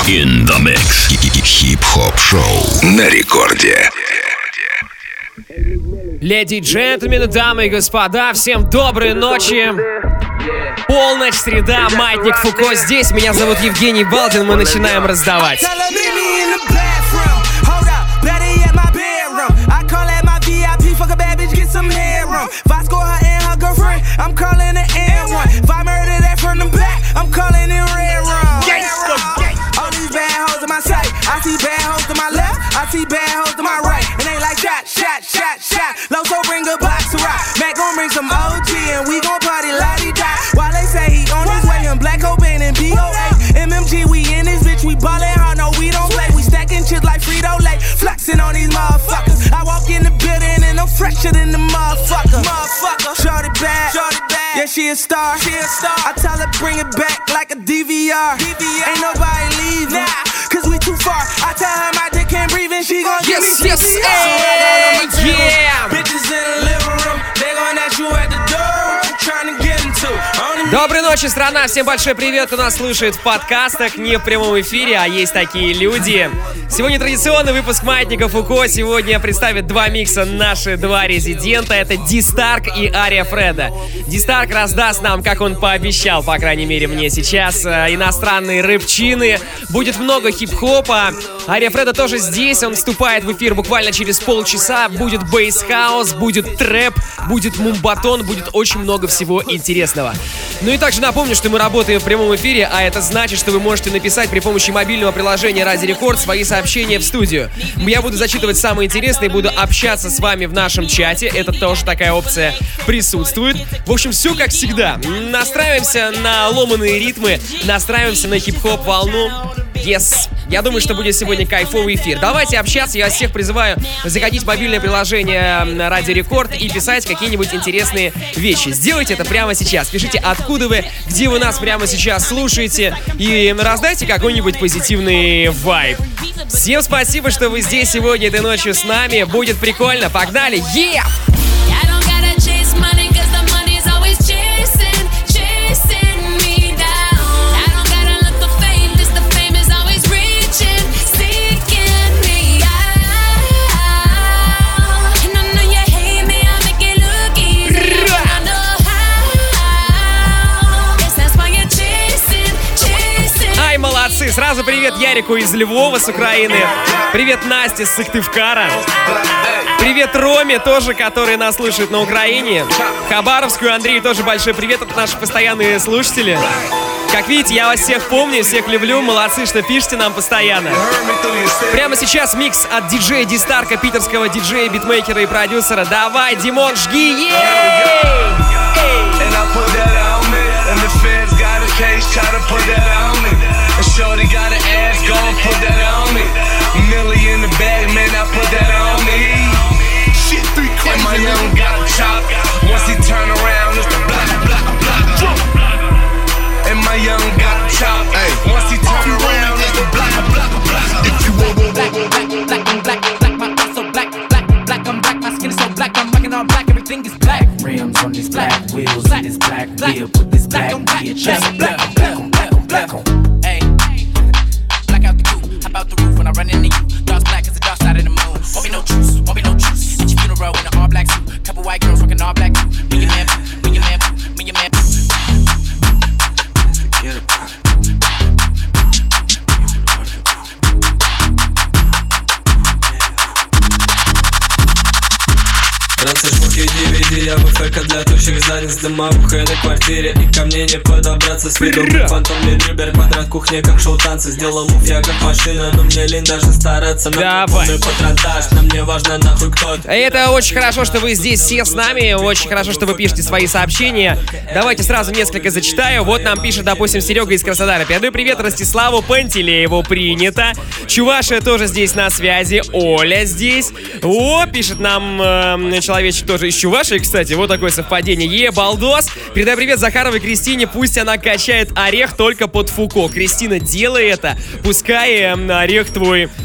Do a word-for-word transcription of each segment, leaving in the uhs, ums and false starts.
In the mix. Хип-хоп шоу на рекорде. Леди и джентльмены, дамы и господа, всем доброй ночи. Полночь, среда, маятник Фуко здесь. Меня зовут Евгений Балдин, мы начинаем раздавать. I see bad hoes to my left, I see bad hoes to my right. And they like shot, shot, shot, shot. Loso bring a box to rock. Mac gon' bring some O G and we gon' party la-di-da. While they say he on his way, him Black Cobain and B O A. M M G, we in this bitch, we ballin' hard, no we don't play. We stacking chips like Frito-Lay, flexing on these motherfuckers. I walk in the building and I'm fresher than the motherfucker. Motherfucker, shorty bad, shorty bad. Yeah, she a star, she a star. I tell her bring it back like a D V R. D V R. Ain't nobody leave now, cause we too far. I tell her my dick can't breathe and she gon' give Yes, me yes, C P R. hey, So yeah. bitches in the living room, they gon' ask you at the door. What you trying to get into? Only Доброй ночи, страна! Всем большой привет, кто нас слушает в подкастах, не в прямом эфире, а есть такие люди. Сегодня традиционный выпуск Маятника Фуко. Сегодня представит два микса наши два резидента. Это Ди-Старк и Ария Фреда. Ди-Старк раздаст нам, как он пообещал, по крайней мере мне сейчас, иностранные рэпчины. Будет много хип-хопа. Ария Фреда тоже здесь, он вступает в эфир буквально через полчаса. Будет бейс-хаус, будет трэп, будет мумбатон, будет очень много всего интересного. Ну и также напомню, что мы работаем в прямом эфире, а это значит, что вы можете написать при помощи мобильного приложения Ради Рекорд свои сообщения в студию. Я буду зачитывать самые интересные, буду общаться с вами в нашем чате. Это тоже такая опция присутствует. В общем, все как всегда. Настраиваемся на ломаные ритмы, настраиваемся на хип-хоп волну. Yes. Я думаю, что будет сегодня кайфовый эфир. Давайте общаться. Я всех призываю заходить в мобильное приложение Ради Рекорд и писать какие-нибудь интересные вещи. Сделайте это прямо сейчас. Пишите, откуда вы, где вы нас прямо сейчас слушаете. И раздайте какой-нибудь позитивный вайб. Всем спасибо, что вы здесь сегодня этой ночью с нами. Будет прикольно. Погнали. Yeah! Сразу привет Ярику из Львова с Украины. Привет Насте с Сыктывкара. Привет Роме тоже, который нас слушает на Украине. Хабаровскую Андрею тоже большой привет. Это наши постоянные слушатели. Как видите, я вас всех помню, всех люблю. Молодцы, что пишете нам постоянно. Прямо сейчас микс от диджея Ди-Старка, питерского диджея, битмейкера и продюсера. Давай, Димон, жги! Shorty got an ass, gon' put that on me. Millie in the bag, man, I put that on me. Shit, three crazy. And my young got a chop. Once he turn around, it's the black, black, black drop. And my young got a chop. Once he turn around, it's the black, black, black. If you want black, black, black, black, black, my eyes so black, black, black, I'm black, my skin is so black, I'm rocking all black, everything is black. Rims on this black, wheels on this black, wheel, put this black, bitch, just black, black, black, black, black. Out the roof when I run into you. Dark black as the dark side of the moon. Won't be no truce, won't be no truce. At your funeral in an all black suit. Couple white girls rocking all black too. Me your man, me your man, me your man. Get it. Раньше шмуки ди ви ди, я буфека для тощих задниц. Дымовуха на квартире, и ко мне не подобраться. С виду фантомный дрибер, квадрат кухни, как шоу танцы. Сделал мув я как машина, но мне лень даже стараться. На полный патронтаж, нам не важно нахуй кто-то. Это очень хорошо, что вы здесь все с нами. Очень хорошо, что вы пишете свои сообщения. Давайте сразу несколько зачитаю. Вот нам пишет, допустим, Серега из Краснодара. Передаю привет Ростиславу Пантелееву, принято. Чувашия тоже здесь на связи. Оля здесь. О, пишет нам э, человечек тоже из Чувашии, кстати. Вот такое совпадение. Е, балдос. Передай привет Захаровой Кристине. Пусть она качает орех только под Фуко. Кристина, делай это. Пускай э, орех твой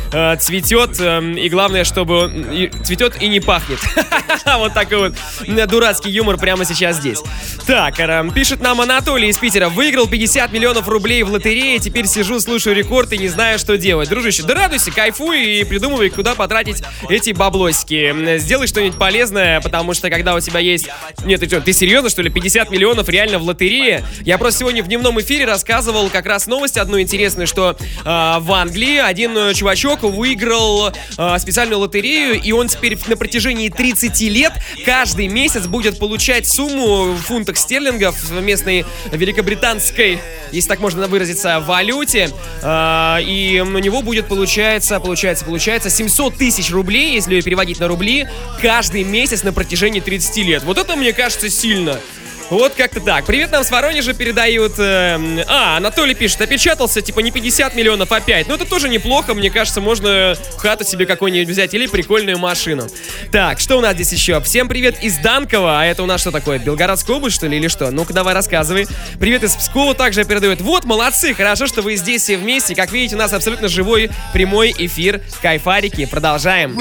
э, цветет, э, и главное, чтобы он и, цветет и не пахнет. Вот такой вот дурацкий юмор прямо сейчас здесь. Так, э, пишет нам Анатолий из Питера. Выиграл пятьдесят миллионов рублей в лотерее, теперь сижу, слушаю рекорд и не знаю, что делать. Дружище, да радуйся, кайфуй и придумывай, куда потратить эти баблосики. Сделай что-нибудь полезное, потому что когда у тебя есть... Нет, ты что, ты серьезно, что ли? пятьдесят миллионов реально в лотерее? Я просто сегодня в дневном эфире рассказывал как раз новость одну интересную, что э, в Англии один чувачок выиграл э, специальную лотерею, и он теперь на протяжении тридцати лет каждый месяц будет получать сумму в фунтах стерлингов в местной великобританской, если так можно выразиться, валюте, э, и у него будет получается, получается, получается семьсот тысяч рублей, если ее переводить на рубли, каждый месяц на протяжении тридцати лет. Вот это, мне кажется, сильно. Вот как-то так. Привет нам с Воронежа передают. Э, а, Анатолий пишет, опечатался, типа не пятьдесят миллионов, а пять. Ну это тоже неплохо, мне кажется, можно хату себе какую-нибудь взять или прикольную машину. Так, что у нас здесь еще? Всем привет из Данкова. А это у нас что такое? Белгородская область, что ли, или что? Ну-ка, давай рассказывай. Привет из Пскова также передают. Вот, молодцы, хорошо, что вы здесь все вместе. Как видите, у нас абсолютно живой прямой эфир. Кайфарики. Продолжаем.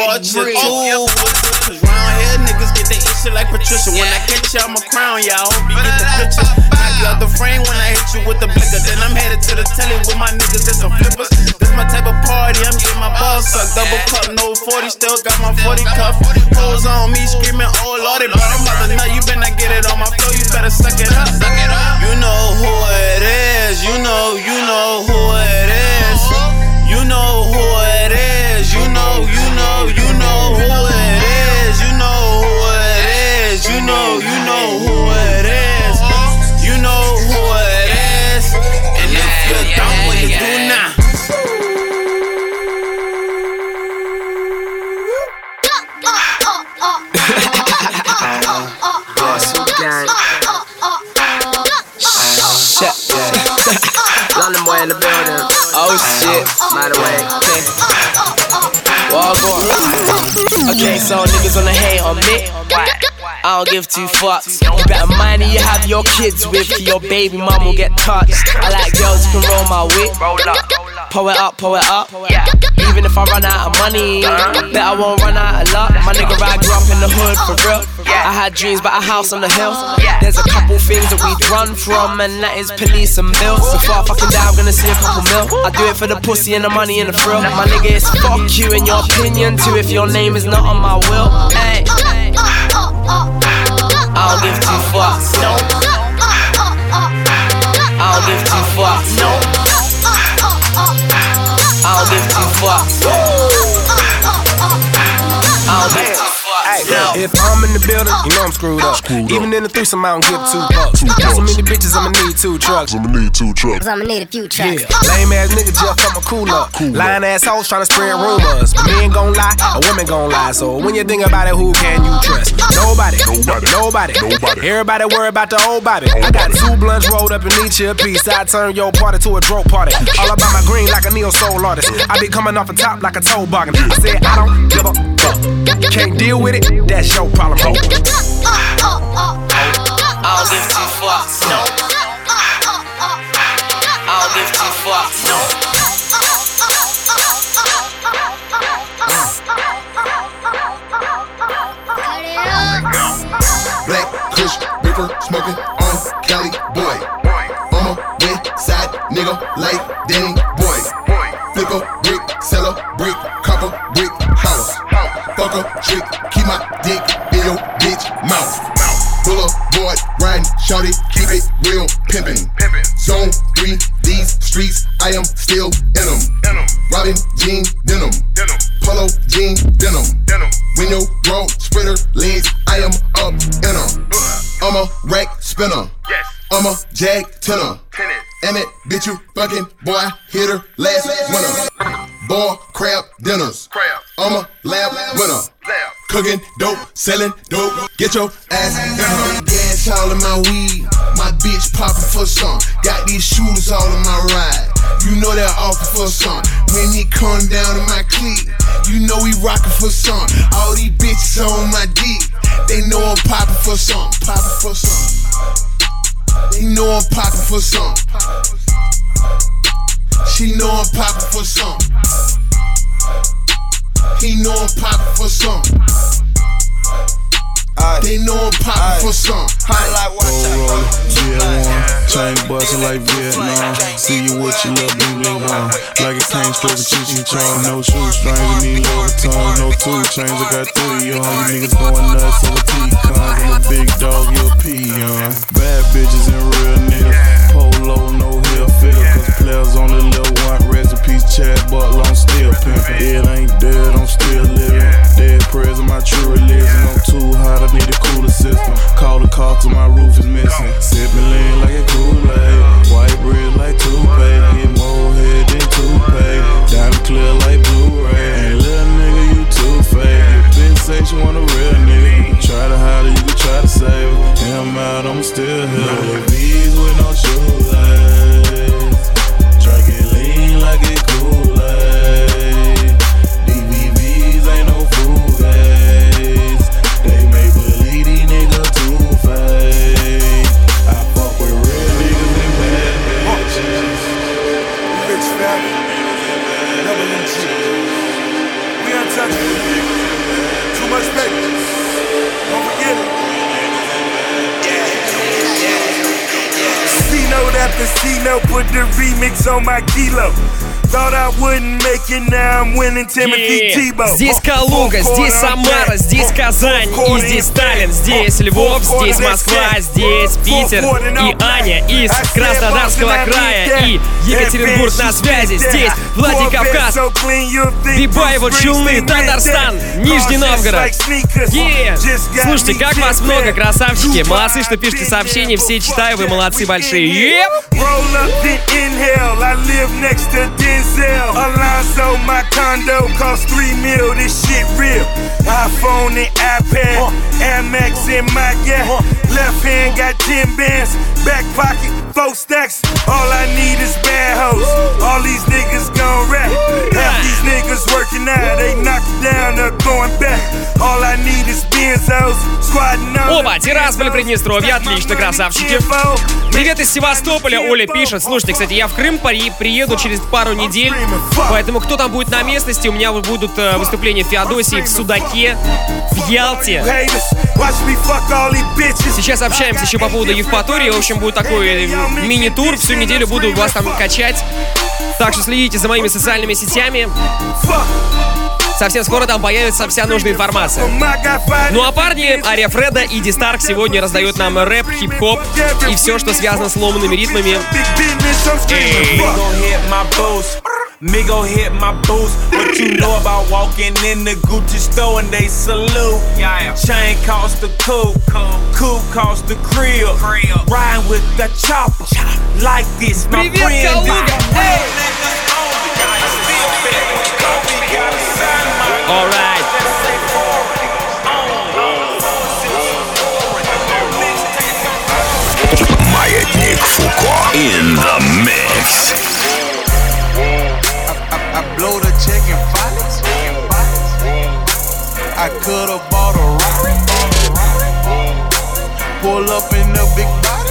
Yeah, I hope you get the picture. Knock you out the frame when I hit you with the blicker. Then I'm headed to the telly with my niggas and some flippers. This my type of party, I'm getting my balls sucked. Double cup, no forty, still got my forty cuff. Hoes on me screaming, oh lordy, but I'm about to nut. You better not get it on my floor, you better suck it up. You know who it is, you know, you know who it is. You know who it is, you know, you know, you know who it is. You know who it is, you know, you know who it is. You know who it is. And if you don't, what you do now? Shit. London boy in the building. Oh shit. By the way, okay. Well, go on. Okay, so niggas wanna hate on me. Why? I don't give two fucks. You better mind who you have your kids with, or your baby mum will get touched. I like girls who can roll my whip. Pull it up, pull it up. Even if I run out of money, I bet I won't run out of luck. My nigga, I grew up in the hood for real. I had dreams about a house on the hill. There's a couple things that we'd run from, and that is police and bills. So far fucking down, I'm gonna see a couple mil. I do it for the pussy and the money and the thrill. My nigga, it's fuck you and your opinion too if your name is not on my will. Hey, I don't give two fucks. No. I don't give two fucks. No. I don't give two fucks. I don't give two fucks. If I'm in the building, you know I'm screwed up. Screwed Even up. In the threesome, I don't give two bucks. Got so many bitches, I'ma need two trucks. I'ma need two trucks. I'ma need a few trucks. Yeah. Lame ass nigga just fuck my cool up. Cool Lying ass hoes tryna spread rumors. But men gon' lie, a woman gon' lie. So when you think about it, who can you trust? Nobody. Nobody. Nobody. Nobody. Everybody worry about the old Bobby. I got two blunts rolled up in each a piece. I turn your party to a dope party. All about my green like a neo soul artist. I be coming off the top like a toe bargain. I said I don't give a fuck. Can't deal with it, that's your problem, ho. I don't give two fucks, no. I don't give two fucks, no. Black Kush, reefer, smoking on Cali boy. I'm a west side nigga like Danny boy. Flick a brick, sell a brick, copper brick house. Fuck a chick, keep my dick in your bitch mouth. Boulevard riding, shawty, keep it real pimpin'. Zone three, these streets, I am still in them. Robin jean denim, polo jean denim. When your bro spreader legs, I am up in them. I'm a rack spinner, I'm a jag tenor. And that bitch you fucking boy, I hit her last winter. Boy, crab dinners, I'm a lab winner. Cooking dope, selling dope, get your ass in her. Gas all in my weed, my bitch poppin' for some. Got these shooters all in my ride, you know they're offering for some. When he come down in my clique, you know we rockin' for some. All these bitches on my dick, they know I'm poppin' for some. Poppin' for some. They know I'm poppin' for some. She know I'm poppin' for some. He know I'm poppin' for some. They know I'm poppin' for some. Roll G L one, chain bustin' like Vietnam. See you with your little bling bling on. Like it came straight from Cheech and Chong. No shoestrings, I need Louboutin. No two chains, I got three on. You niggas going nuts over T-Cons. I'm a big dog, you a peon. Bad bitches and real niggas. Polo, no heel figure. Cause players only live one. Recipes, Chad Butler, I'm still pimpin'. It ain't dead, I'm still living. Dead prayers in my true religion. I'm too hot, I need a cooler system. Call the car till my roof is missing. Sippin' lean like a Kool-Aid. White bread like toupee. Get more head than toupee. Diamond clear like Blu-ray. Ain't little nigga, you too fake. Bitch say she want a real nigga. Try to hide her, you can try to save her. And I'm out, I'm still here. V's with no shoelace. Drinking lean like it Kool-Aid. D V V's ain't no fool-gaze. They make believe these niggas too fake. I fuck with real niggas and bad bitches. Rich family, double M G. We untouchable. Too much paper. Don't forget it. C-note after C-note, put the remix on my kilo. Thought I wouldn't make it, now I'm winning Timothy Tebow. Здесь Калуга, здесь Самара, здесь Казань и здесь Таллин, здесь Львов, здесь Москва, здесь Питер и Аня из Краснодарского края и Екатеринбург на связи, здесь Владикавказ, Бибаево, Челны, Татарстан, Нижний Новгород. Yeah. Слушайте, как вас много, красавчики, молодцы, что пишете сообщения, все читаю, вы молодцы большие. Yep. Alonzo, my condo cost three mil, this shit real. iPhone and iPad, Amex in my gap. Left hand got ten bands, back pocket, four stacks. All I need is bad hoes. All these niggas gon' rap. Half these niggas working out, they knock it down, they're going back. All I need is Benzos, squatting on. Оба, Тирасполь, Приднестровье, отлично, красавчики. Привет из Севастополя, Оля пишет. Слушайте, кстати, я в Крым приеду через пару недель, поэтому кто там будет на местности, у меня будут э, выступления в Феодосии, в Судаке, в Ялте. Сейчас общаемся еще по поводу Евпатории. В общем, будет такой мини-тур. Всю неделю буду вас там качать. Так что следите за моими социальными сетями. Совсем скоро там появится вся нужная информация. Ну а парни, Ария Фреда и Дистарк сегодня раздают нам рэп, хип-хоп и все, что связано с ломаными ритмами. Migo hit my boots. What you know about walking in the Gucci store and they salute? Yeah. Chain cost the coupe, coupe cost the crib. Riding with the chopper like this, my Привет, friend. Калуга! Hey. All right. Маятник Фуко in the mix. I blow the check in violence. I could've bought a Rari. Pull up in the big body.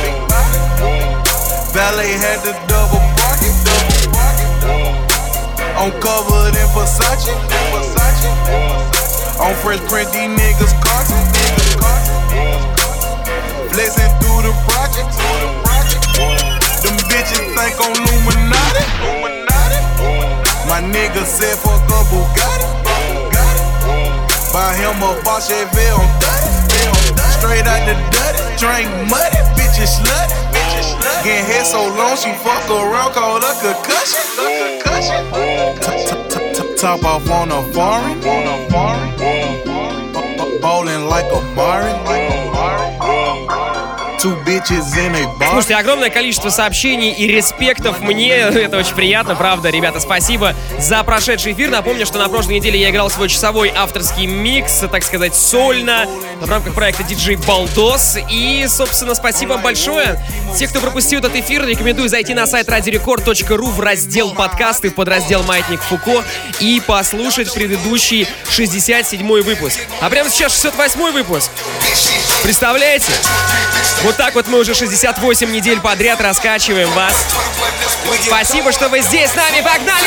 Valet had the double pocket. I'm covered in Versace. On Fresh Print, these niggas carton. Blazing through the projects. Them bitches think I'm Illuminati. My nigga said fuck a Bugatti. Buy him a Boss Chevy on thirty. Straight out the dirty. Drink muddy, bitches slutty. Getting head so long she fuck around, call her concussion. Top off on a foreign. Ballin' like a Mari. Слушайте, огромное количество сообщений и респектов мне. Это очень приятно, правда, ребята, спасибо за прошедший эфир. Напомню, что на прошлой неделе я играл свой часовой авторский микс, так сказать, сольно, в рамках проекта диджей Балдос. И, собственно, спасибо большое. Те, кто пропустил этот эфир, рекомендую зайти на сайт радио рекорд точка ру в раздел подкасты, в подраздел Маятник Фуко и послушать предыдущий шестьдесят седьмой выпуск. А прямо сейчас шестьдесят восьмой выпуск. Представляете? Вот так вот мы уже шестьдесят восемь недель подряд раскачиваем вас. Спасибо, что вы здесь с нами. Погнали!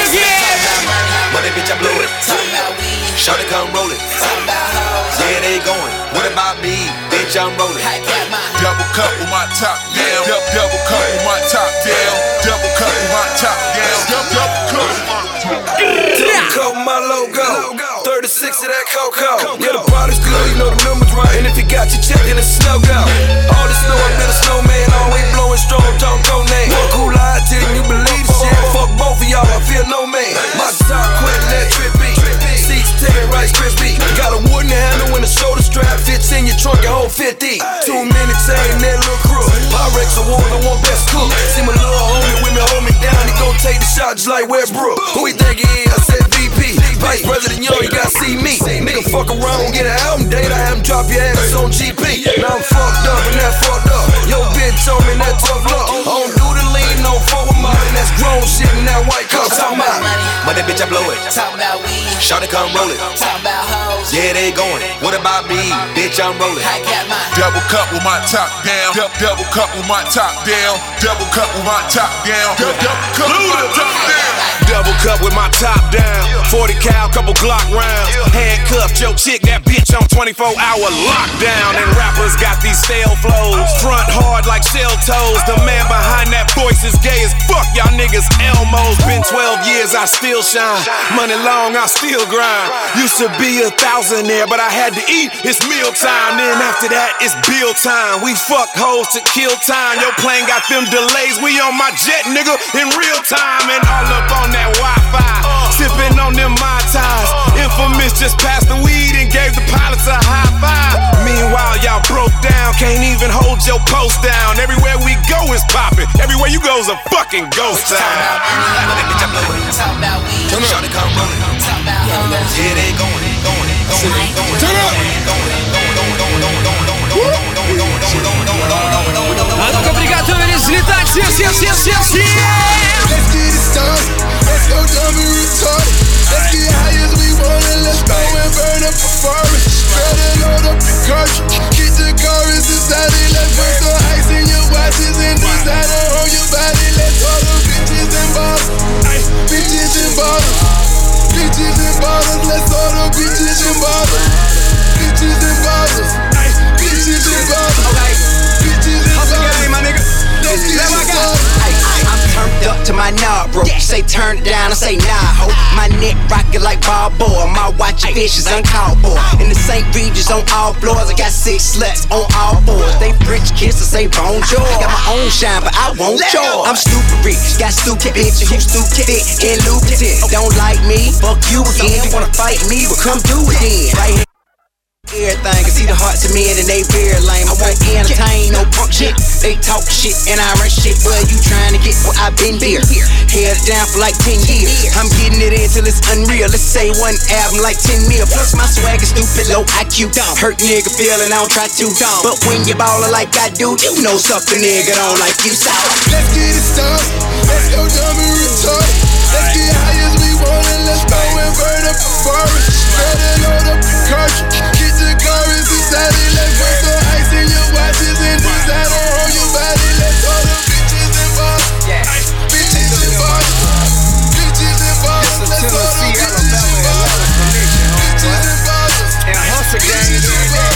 Double cup with my top down. Double cup with my top down. Double cup with my top down. Double cup with my top down. Double cup with my logo. thirty-six of that Coco. Yeah, the body's good, you know the numbers right. And if you got your check, then it's snow go. All the snow, I been a snowman. Always blowing strong, don't go name. One cool lie till you believe the shit. Fuck both of y'all, I feel no man. My top quit, let trippy. Seats ten, Rice Krispie. Got a wooden handle and a shoulder strap. Fits in your trunk, your whole fifty. Two minutes, ain't that little crew. Pyrex award, I want best cook. See my little homie with me, hold me down. He gon' take the shot just like Westbrook. Who he think he is? I said V P. Vice President Young, you gotta see me. Nigga fuck around, get an album date. I have him drop your ass on G P. Now I'm fucked up and that fucked up. Yo bitch told me that tough luck. I don't do the lean, no forward mountain. That's grown shit in that white cup. Talk about money, bitch, I blow it. Talk about weed. Shawty come roll it. Talk about hoes. Yeah, they going. What about me? Bitch, I'm rolling. I got mine. Double cup with my top down. Double cup with my top down. Double cup with my top down. Double cup with my top down. Double cup with my top down. forty cal, couple Glock rounds. Handcuffed your chick, that bitch on twenty-four hour lockdown. And rappers got these stale flows. Front hard like shell toes. The man behind that voice is gay as fuck. Y'all niggas Elmos. Been twelve years, I still shine. Money long, I still grind. Used to be a thousandaire, but I had to eat. It's meal time. Then after that, it's bill time. We fuck hoes to kill time. Your plane got them delays. We on my jet, nigga, in real time. And all up on that Wi-Fi. Sipping on them Mai Tais. Infamous just passed the weed and gave the pilots a high five. Meanwhile, y'all broke down. Can't even hold your post down. Everywhere we go is popping. Everywhere you go is a fucking ghost town. Talk about weed. Shawty come rolling. Talk about hoes. Yeah, they going, going, going, going. Turn up. А ну-ка, приготовились взлетать. Все, все, все, все, все. Let's get it started. Let's go dumb and retarded. Let's get high as we want and let's go and burn up a forest. Better load up the cartridge. Get the chorus inside it. Let's put some ice in your watches and designer on your body. Let's all the bitches and bottles. Bitches and bottles. Bitches and bottles. Let's all the bitches and bottles. Bitches and bottles. Bitches and bottles. Bitches and bottles. my nigga. Let's get it started. I'm turned up to my knob, bro. You say turn it down, I say nah, ho. My neck rockin' like Balboa. My watch and fishes uncalled for. In the Saint Regis on all floors. I got six sluts on all fours. They French kiss, I say bonjour. I got my own shine, but I won't yours. I'm stupid rich, got stupid bitches who stupid thick and lubricant. Don't like me, fuck you again. You wanna fight me, well come do it then. Right here. Everything, can see the hearts of men and they very lame. I won't entertain no punk shit. They talk shit and I run shit. Well, you trying to get what I've been here. Held it down for like ten years. I'm getting it in till it's unreal. Let's say one album like ten mil. Plus my swag is stupid, low I Q. Hurt nigga feeling, I don't try to. But when you ballin' like I do, you know something nigga don't like you so. Let's get it started. Let's go dumb and retarded. Let's get high as we want and let's go and burn up a forest. Better load up the cartridge. Get the chorus inside it. Let's put some ice in your watches and designer on your body. Let's all the bitches and bottles. Bitches and bottles. Bitches and bottles. Let's all the bitches and bottles. Bitches and bottles. And hustle gang is in there.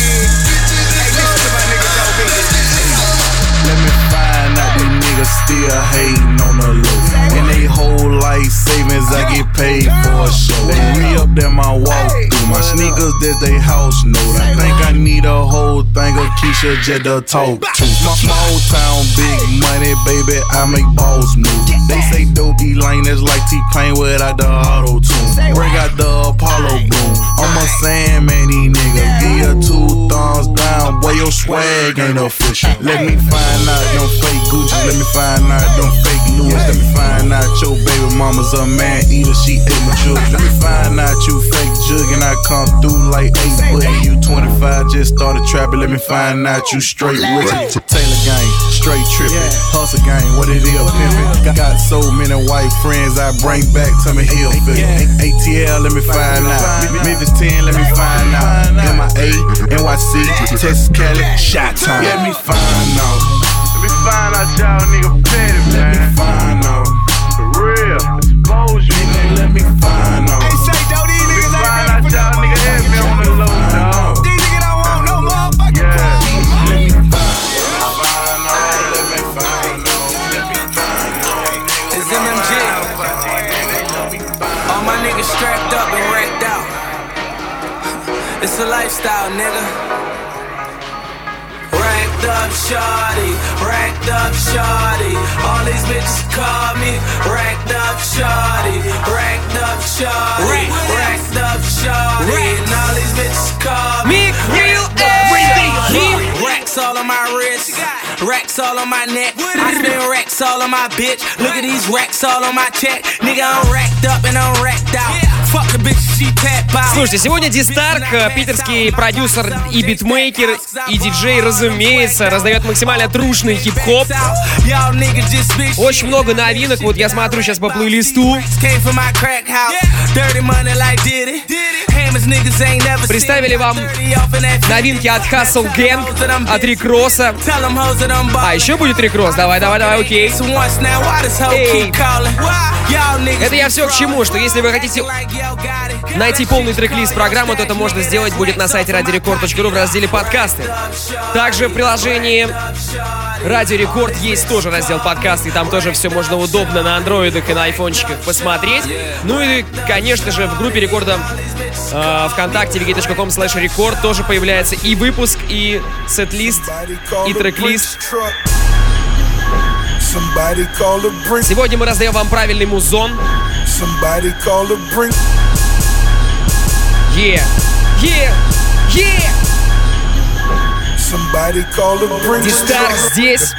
Hey, listen to my nigga Joe Big. Let me find out these niggas still hating on the low. And they whole life savings, I get paid for a show. They re-up that my walk through. My sneakers, that's they house note. I think I need a whole thing of Keisha Jet to talk to. Small town, big money, baby, I make balls move. They say dopey lane is like T-Pain without the auto-tune. Bring out the Apollo boom. I'm a Sandman, these niggas. Give you two thumbs down, boy, your swag ain't official. Let me find out them fake Gucci. Let me find out them fake Louis. Let me find out your baby mama mama's a man eater, she ate my children. Let me find out you fake jug and I come through like eight foot. You twenty-five, just started trapping, let me find out you straight with it. Taylor gang, straight trippin', hustle gang, what it is, pimpin'. Got so many white friends I bring back to me hill figure. A T L, let me find out. Memphis ten, let me find out. M I A, N Y C, Texas, Cali, Shot Town. Let me find out. Let me find out y'all nigga petty, man. Let me find out. For real, expose you. Let me find out. Hey, say, though, these niggas ain't find out y'all nigga heavy on the low, dog. These niggas don't want no motherfucking yeah. Let me find out. Let me find out. Let me find out. It's M M G. All my niggas strapped up and racked out. It's a lifestyle, nigga. Racked up shawty, racked up shawty. All these bitches call me racked up shawty, racked up shawty, racked up shawty. And all these bitches call me real everything. Racks all on my wrist, racks all on my neck. I spend racks all on my bitch. Look at these racks all on my check. Nigga, I'm racked up and I'm racked out. Fuck the bitch, she tap out. Слушайте, сегодня Дистарк, питерский продюсер и битмейкер, и диджей, разумеется, раздает максимально трушный хип-хоп. Очень много новинок, вот я смотрю сейчас по плейлисту. Представили вам новинки от Hustle Gang, от Рик Росса. А, еще будет Рик Росс, давай, давай, давай, окей. Эй. Это я все к чему, что если вы хотите найти полный трек-лист программы, то это можно сделать будет на сайте радио рекорд точка ру в разделе подкасты. Также в приложении Радио Рекорд есть тоже раздел подкасты, и там тоже все можно удобно на андроидах и на айфончиках посмотреть. Ну и, конечно же, в группе рекорда э, ВКонтакте ви ки точка ком слэш рекорд тоже появляется и выпуск, и сет-лист, и трек-лист. Сегодня мы раздаем вам правильный музон. Yeah, yeah, yeah. Дистарк здесь.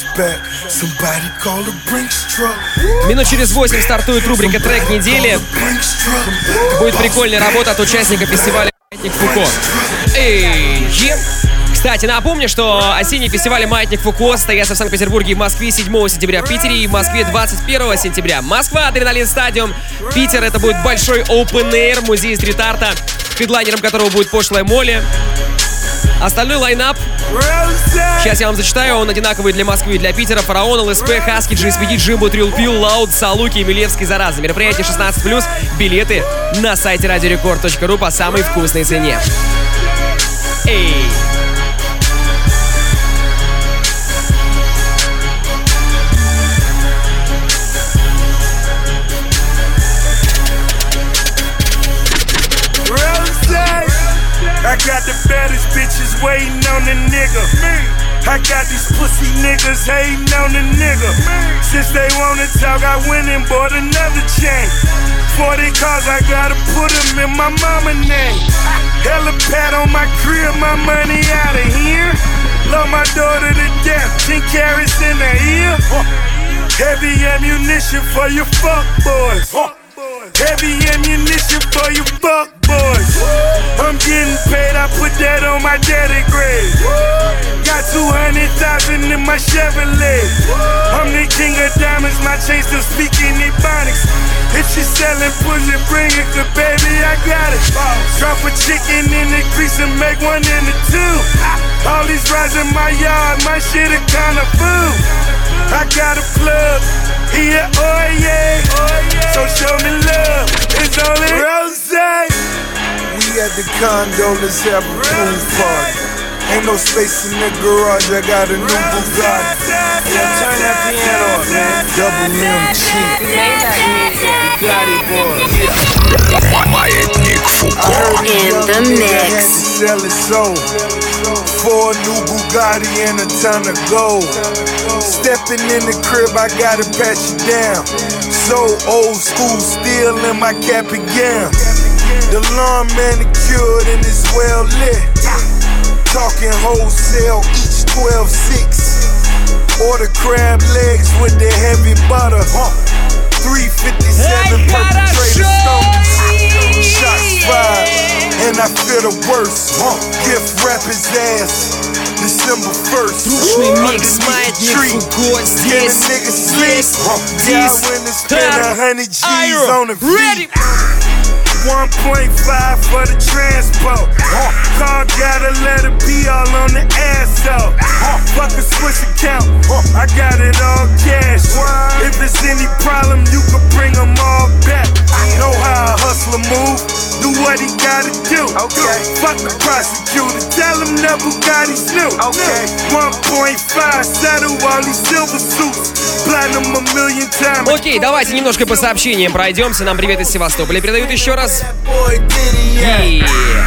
Минут через восемь стартует рубрика «Трек недели». Будет прикольная работа от участника фестиваля «Маятник Фуко». Эй, е. Кстати, напомню, что осенний фестиваль «Маятник Фуко» состоится в Санкт-Петербурге и Москве седьмого сентября, в Питере и в Москве двадцать первого сентября. Москва, Адреналин Стадиум. Питер — это будет большой open air, музей стрит-арта, хедлайнером которого будет Пошлая Молли. Остальной лайнап, сейчас я вам зачитаю, он одинаковый для Москвы и для Питера. Фараон, ЛСП, Хаски, джи эс пи ди, Джимбо, Трил Пил, Лауд, Салуки и Милевский, Зараза. Мероприятие шестнадцать плюс, билеты на сайте радио рекорд точка ру по самой вкусной цене. Эй! I got the baddest bitches waiting on the nigga. I got these pussy niggas hating on the nigga. Since they wanna talk, I went and bought another chain. forty cars, I gotta put them in my mama name. Hella pat on my crib, my money out of here. Love my daughter to death, ten carats in the ear. Heavy ammunition for your fuck boys. Heavy ammunition for you fuck boys. I'm getting paid, I put that on my daddy grave. Got two hundred thousand in my Chevrolet. I'm the king of diamonds, my chain still speaking Ebonics. If she selling pussy, bring it, cause baby, I got it. Drop a chicken in the grease and make one in the two. All these rides in my yard, my shit a kind of food. I got a plug, yeah, oh yeah. So show me love, it's only Rose. We at the condo, let's have a pool party. Ain't no space in the garage, I got a new Bugatti. Yeah, turn that piano up, man. Double M cheap. Bugatti boy. Маятник Фуко. In the mix. Sell it so. For a new Bugatti and a ton of gold. Stepping in the crib, I gotta pat you down. So old school, still in my cap and gown. The lawn manicured and it's well lit. Talking wholesale, each twelve six. Order crab legs with the heavy butter. three fifty-seven perpetrator stones. Shots fired, and I feel the worst. Gift wrap his ass. December first. Трушный микс, Маятник Фуко здесь, здесь, здесь. Ready? one point five for the transport. Car gotta let it be all on the ass out. Fuck a Swiss account, I got it all cash. If it's any problem, you can bring them all back. Know how a hustler move, do what he gotta do. Okay. Fuck the prosecutor, tell him that Bugatti's new. Okay. one point five, settle all these silver suits. Platinum a million times. Окей, давайте немножко по сообщениям пройдемся. Нам привет из Севастополя передают еще раз. Yeah.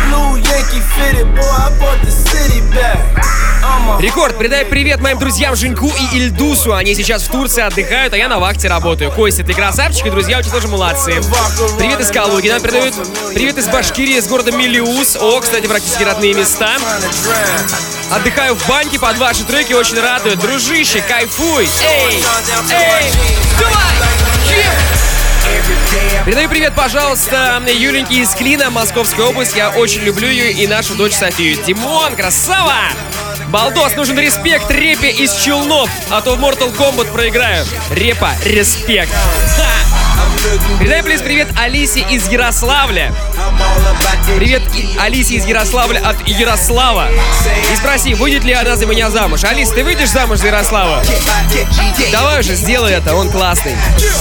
Рекорд, передай привет моим друзьям Женьку и Ильдусу. Они сейчас в Турции отдыхают, а я на вахте работаю. Костя, ты красавчик, и друзья очень тоже молодцы. Привет из Калуги, нам передают привет из Башкирии, из города Мелиус. О, кстати, практически родные места. Отдыхаю в баньке, под ваши треки очень радуют. Дружище, кайфуй. Эй, эй, давай, передаю привет, пожалуйста, Юленьке из Клина, Московская область. Я очень люблю ее и нашу дочь Софию. Димон, красава! Балдос, нужен респект Репе из Челнов, а то в Mortal Kombat проиграю. Репа, респект. Ха! Передай, плиз, привет Алисе из Ярославля. Привет Алисе из Ярославля от Ярослава. И спроси, выйдет ли она за меня замуж. Алис, ты выйдешь замуж за Ярослава? Давай уже, сделай это, он классный.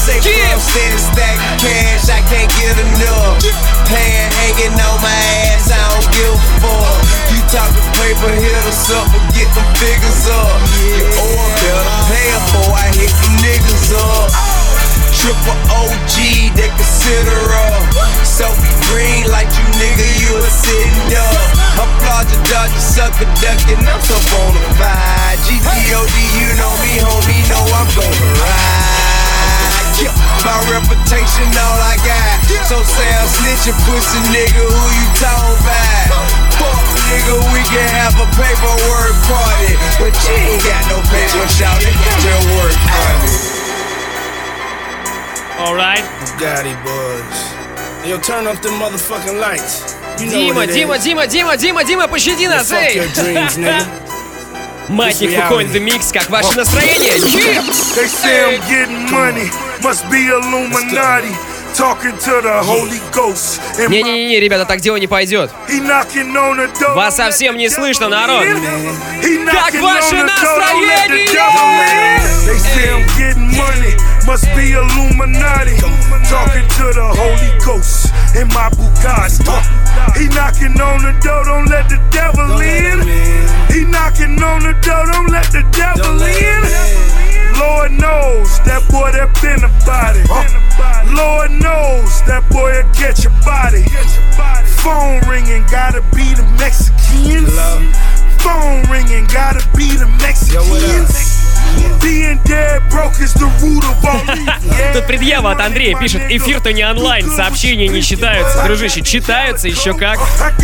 Triple O G, they consider up. Sophie Green, like you nigga, you a sitting duck. Applaud your dodge, you sucker duckin', I'm so bonafide. G D O D, you know me, homie, know I'm gonna ride. My reputation, all I got. So say I'm snitching, pussy nigga, who you talking about? Fuck nigga, we can have a paperwork party, but you ain't got no paper, shout it, just work party. Alright. Bugatti boys. Yo, turn off them motherfucking lights. You know Дима, Дима, Дима, Дима, Дима, Дима, пощади нас, эй! Маятник Фуко in the mix, как ваше настроение? They say I'm getting money, must be Illuminati. Talking to the Holy Ghost. Не-не-не, ребята, так дело не пойдет. Вас совсем не слышно, народ. Как ваше настроение? They say I'm getting money, must be Illuminati. Talking to the Holy Ghost in my Bugatti. He knocking on the door, don't let the devil in. He knocking on the door, don't let the devil in. Lord knows that boy that been about it. Lord knows that boy will get your body. Phone ringing, gotta be the Mexicans. Phone ringing, gotta be the Mexicans. Being dead broke is the root of all evil. Тут предъява от Андрея пишет: эфир-то не онлайн, сообщения не считаются. Дружище, читаются еще как.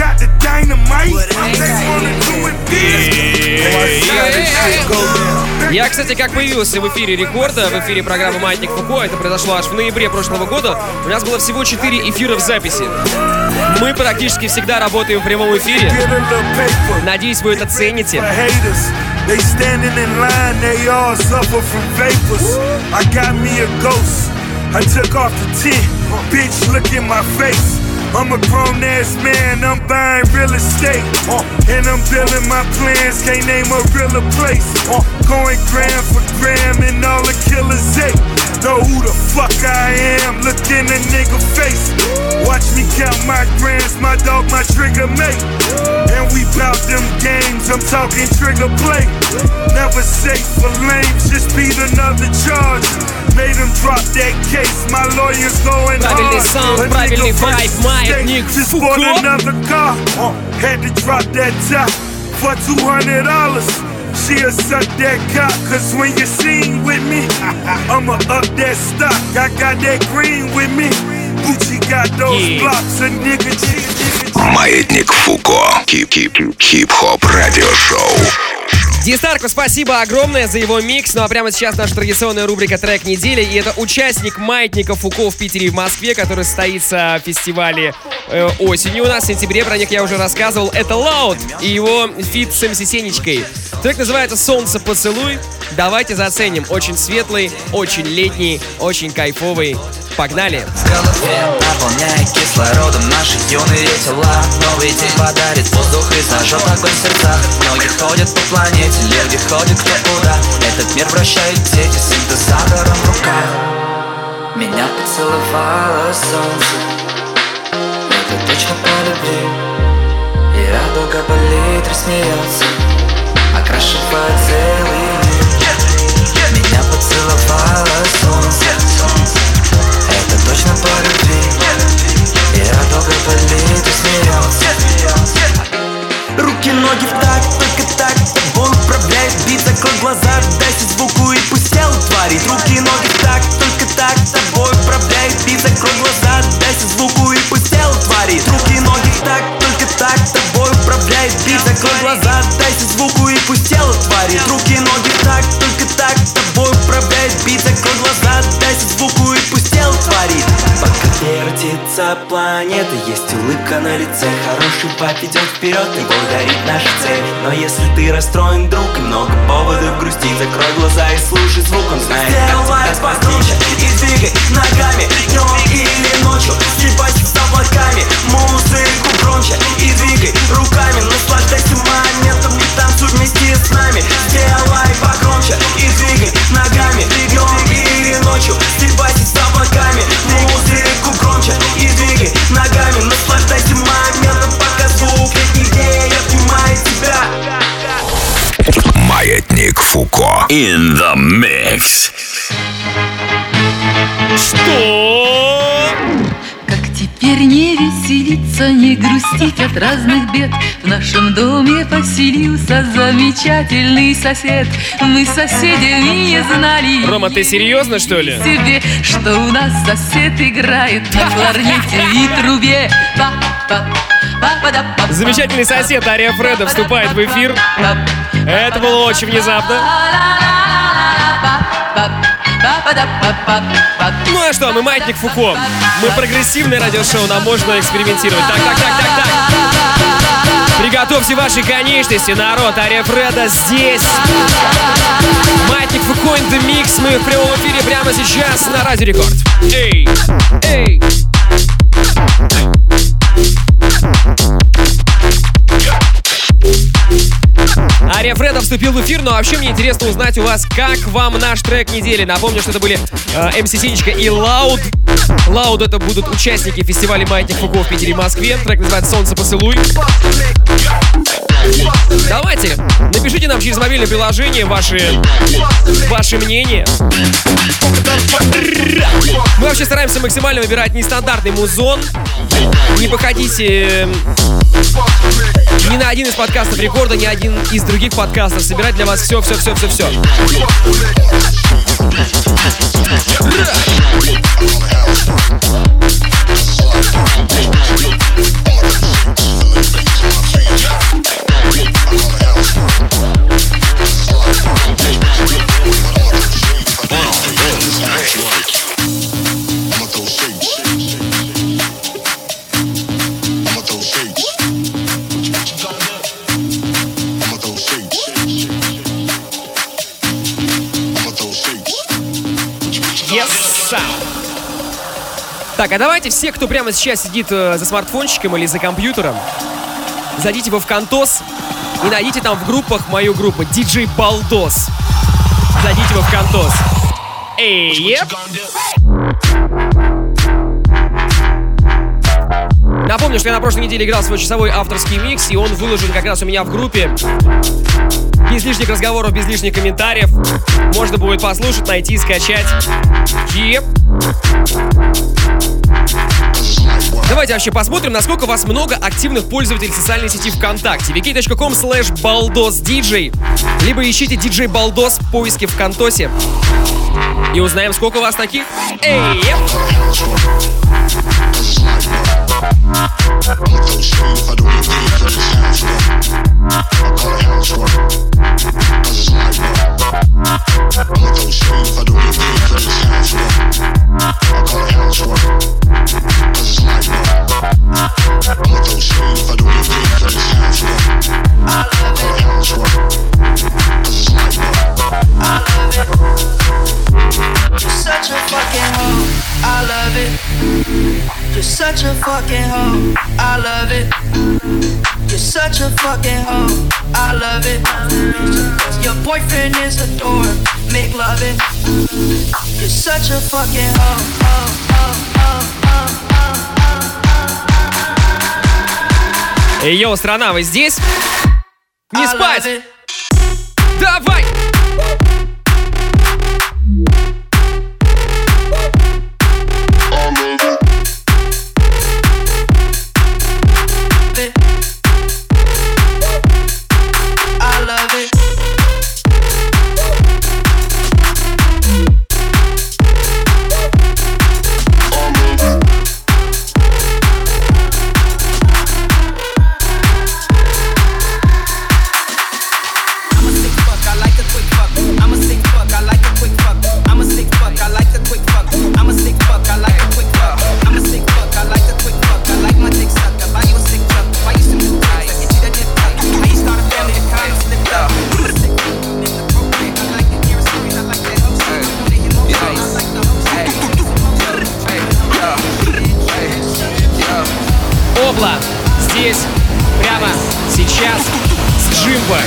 Я, кстати, как появился в эфире Рекорда, в эфире программы «Маятник Фуко», это произошло аж в ноябре прошлого года, у нас было всего четыре эфира в записи. Мы практически всегда работаем в прямом эфире. Надеюсь, вы это цените. They standing in line, they all suffer from vapors. I got me a ghost. I took off the tent. Bitch, look in my face. I'm a grown ass man, I'm buying real estate. And I'm building my plans, can't name a realer place. Going gram for gram and all the killers hate. Know who the fuck I am, look in a nigga face. Watch me count my grams, my dog, my trigger mate. And we bout them games, I'm talking trigger play. Never safe for lames, just beat another charge. Made them drop that case, my lawyers going hard. Правильный саунд, правильный вайб, Маятник Фуко. Another car, had to drop that top for two hundred dollars. She'll suck that cock, cause when you sing with me, I'ma up that stock. I got that green with me. Gucci got those yeah. blocks, a nigga cheat. Маятник Фуко. Хип-хип-хип-хоп радиошоу. Дистарку спасибо огромное за его микс. Ну а прямо сейчас наша традиционная рубрика «Трек недели». И это участник Маятника Фуко в Питере и в Москве, который состоится в фестивале э, осенью у нас, в сентябре. Про них я уже рассказывал. Это Loud и его фит с эм си Сенечкой. Трек называется «Солнце поцелуй». Давайте заценим. Очень светлый, очень летний, очень кайфовый. Погнали! В голове наполняя кислородом наши юные тела. Новый день подарит воздух и зажжет огонь в сердцах. Многие ходят по планете, люди ходят кто куда. Этот мир вращает дети с синтезатором в руках. Меня поцеловало солнце, это точно по любви. И радуга болит, рассмеется, окрашивает целый мир. Меня поцеловало солнце, это точно по любви. И радуга болит и смеется. Руки, ноги в такт, только так тобой управляет бит. Закрой глаза, дайся звуку и пусть тело творит. Руки, ноги в такт, только так тобой управляет бит. Закрой глаза, дайся звуку и пусть тело творит. Руки, ноги в такт, только так тобой управляет бит. Закрой глаза, дайся звуку и пусть тело творит. Руки, ноги в такт, только так тобой управляет бит. Закрой глаза, дайся звуку и пусть тело творит. Пока вертится планета, есть улыбка на лице. Хороший пап идет вперед, его дарит наша цель. Но если ты расстроен, друг, и много поводов грустить, закрой глаза и слушай звук, он знает, как тебя спастись. И двигай ногами, днем или ночью, сливайся с облаками, музыку громче. И двигай руками, наслаждайся моментом, не танцуй вместе с нами. Сделай погромче и двигай ногами, днем или ночью, сливайся с облаками, музыку громче. И двигай ногами, наслаждайся моментом, пока звук летнее обнимает тебя. Маятник Фуко in the mix. Что? Как теперь не веселиться, не грустить от разных бед. В нашем доме поселился замечательный сосед. Мы с соседями не знали. Рома, ты серьезно, что ли? Себе, что у нас сосед играет на кларнете и трубе. Замечательный сосед Ария Фреда вступает в эфир. Это было очень внезапно. Ну а что, мы Маятник Фуко. Мы прогрессивное радиошоу, нам можно экспериментировать. Так, так, так, так, так. Приготовьте ваши конечности, народ. Ария Фреда здесь. Маятник Фуко in the mix. Мы в прямом эфире прямо сейчас на Радио Рекорд. Эй, эй. Ария Фреда вступил в эфир, но вообще мне интересно узнать у вас, как вам наш трек недели. Напомню, что это были э, эм си Сенечка и Loud. Loud — это будут участники фестиваля Маятник Фуко в Питере и Москве. Трек называется «Солнце поцелуй». Давайте, напишите нам через мобильное приложение ваши, ваши мнения. Мы вообще стараемся максимально выбирать нестандартный музон. Не походите ни на один из подкастов Рекорда, ни один из других подкастов. Собирать для вас все, все, все, все, все. Так, а давайте все, кто прямо сейчас сидит э, за смартфончиком или за компьютером, зайдите во Вконтос и найдите там в группах мою группу диджей Балдос. Зайдите во Вконтос. Эй, еп. Напомню, что я на прошлой неделе играл свой часовой авторский микс, и он выложен как раз у меня в группе. Без лишних разговоров, без лишних комментариев. Можно будет послушать, найти, скачать. Еп. Давайте вообще посмотрим, насколько у вас много активных пользователей социальной сети ВКонтакте. ви кей точка ком слэш балдос диджей. Либо ищите диджей Балдос в поиске ВКонтосе. И узнаем, сколько у вас таких. Эй! You're such a fucking hoe, I love it. You're such a fucking hoe, I love it. Your boyfriend is a dork, make loving. You're such a fucking hoe, hoe, hoe, hoe, hoe, hoe. Эй, йоу, страна, вы здесь? Не спать! Давай! Обла здесь, прямо сейчас, с Джимбой.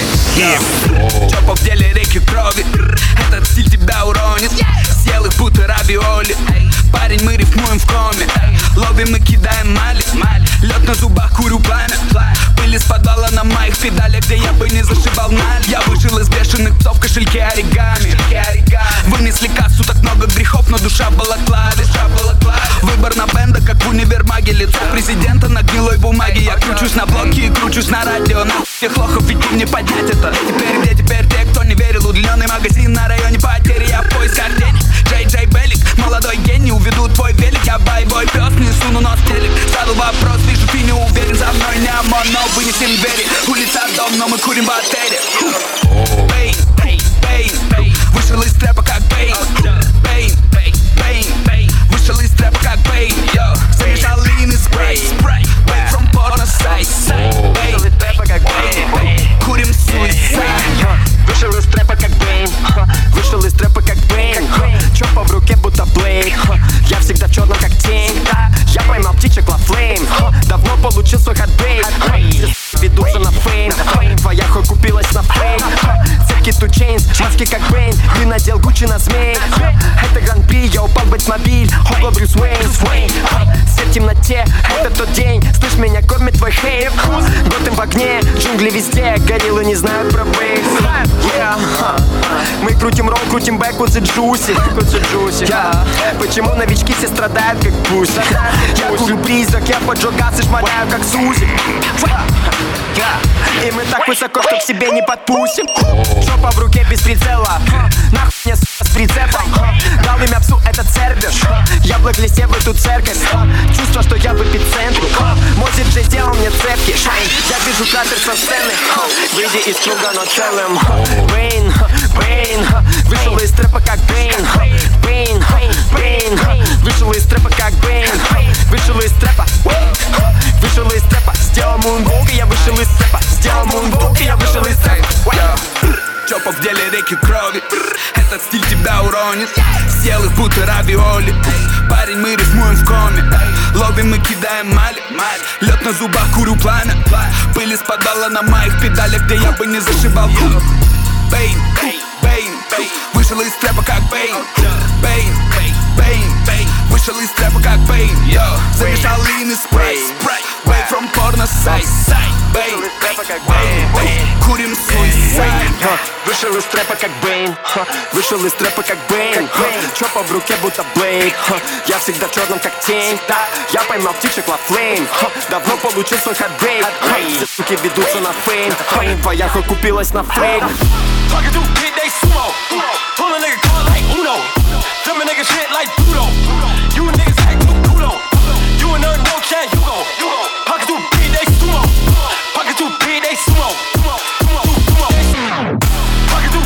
Чопа в деле реки крови, этот стиль тебя уронит. Съел их будто равиоли. Парень, мы рифмуем в коме. Ловим и кидаем мали. Лед на зубах, курю пламя. Пыль из подвала на моих педалях, где я бы не зашибал наль. Я вышел из бешеных псов в кошельке оригами. Вынесли кассу, так много грехов, но душа в балаклаве. Выбор на бенда, как в универмаге. Лицо президента на гнилой бумаге. Я кручусь на блоке и кручусь на радио. На всех лохов ведь не поднять это. Теперь где теперь те, кто не верил? Удлиненный магазин на районе потери. Я в поисках денег. Джей Джей Белик, молодой гений, уведу твой велик. Я бойбой пес, не суну нос в телек. Задал вопрос, вижу, ты не уверен. За мной не ОМОН, но вынесем двери. Улица, дом, но мы курим в отеле. Бейн, бейн, бейн, вышел из трэпа как Бейн. Бейн, бейн, бейн, вышел из трэпа как Бейн. Замешал лин и спрей. Wait from porno size. Вышел из трэпа как Бейн. Курим суицид. Вышел из трэпа как Бейн. Вышел из трэпа как Бейн. Чопа в руке будто Блейд. Я всегда в черном как тень. Я поймал птичек Ла Флейм. Давно получил свой хатбейт. Ведутся на фейм. Твоя хуй купилась на фейм. Цепки ту чейнс, маски как Бейн. Ты надел Гуччи на змей. Это гран-при, я упал в Бэтмобиль. Ого, Брюс Уэйн. Свет в темноте, это тот день. Слышь, меня кормит твой хейт. Готэм в огне, джунгли везде. Гориллы не знают про бейс. Yeah. Мы крутим ролл, крутим бэквудс и джуси. Yeah. Почему новички все страдают как пусть? Я курю призрак, я поджег газ и шмаляю как Сузи. И мы так высоко, что к себе не подпустим. Жопа в руке без прицела. Нахуй мне с прицепом. Дал имя псу, это цербер. Я в листе в эту церковь. Чувство, что я в эпицентре. Мой диджей сделал мне цепки. Я вижу кратер со сцены. Выйди из круга, но целым. Бейн, Бейн, вышел из трэпа как Бейн. Бейн, Бейн, вышел из трэпа как Бейн. Вышел из трэпа, вышел из трэпа. Сделал мунвок, и я вышел из трэпа. Сделал мунвок, и я вышел из трэпа. Чопа в деле реки крови. Этот стиль тебя уронит. Съел их будто равиоли. Парень, мы рифмуем в коме. Ловим и кидаем мали. Лед на зубах, курю пламя. Пыль из подвала на моих педалях, где я бы не зашибал. Бейн, Бейн, Бейн, вышел из трэпа как Бейн. Бейн, Бейн, Бейн, вышел из трэпа как Бейн. Замешал лин и спрей. Way from porno size. Бейн, Бейн, курим суицид. Вышел из трэпа как Бейн. Вышел из трэпа как Бейн. Чопа в руке будто Блейд. Я всегда в черном как тень. Я поймал птичек Ла Флейм. Давно получил свой хатбейт. Все суки ведутся на фейм. Твоя хуй купилась на фейк. Talking to kid, they sumo. Pull a nigga car like Uno. Them a nigga shit like Pluto. You a niggas act no culo. You a nerd, no chance, you go. Pocket to kid, they sumo. Pocket to kid, they sumo. Pocket to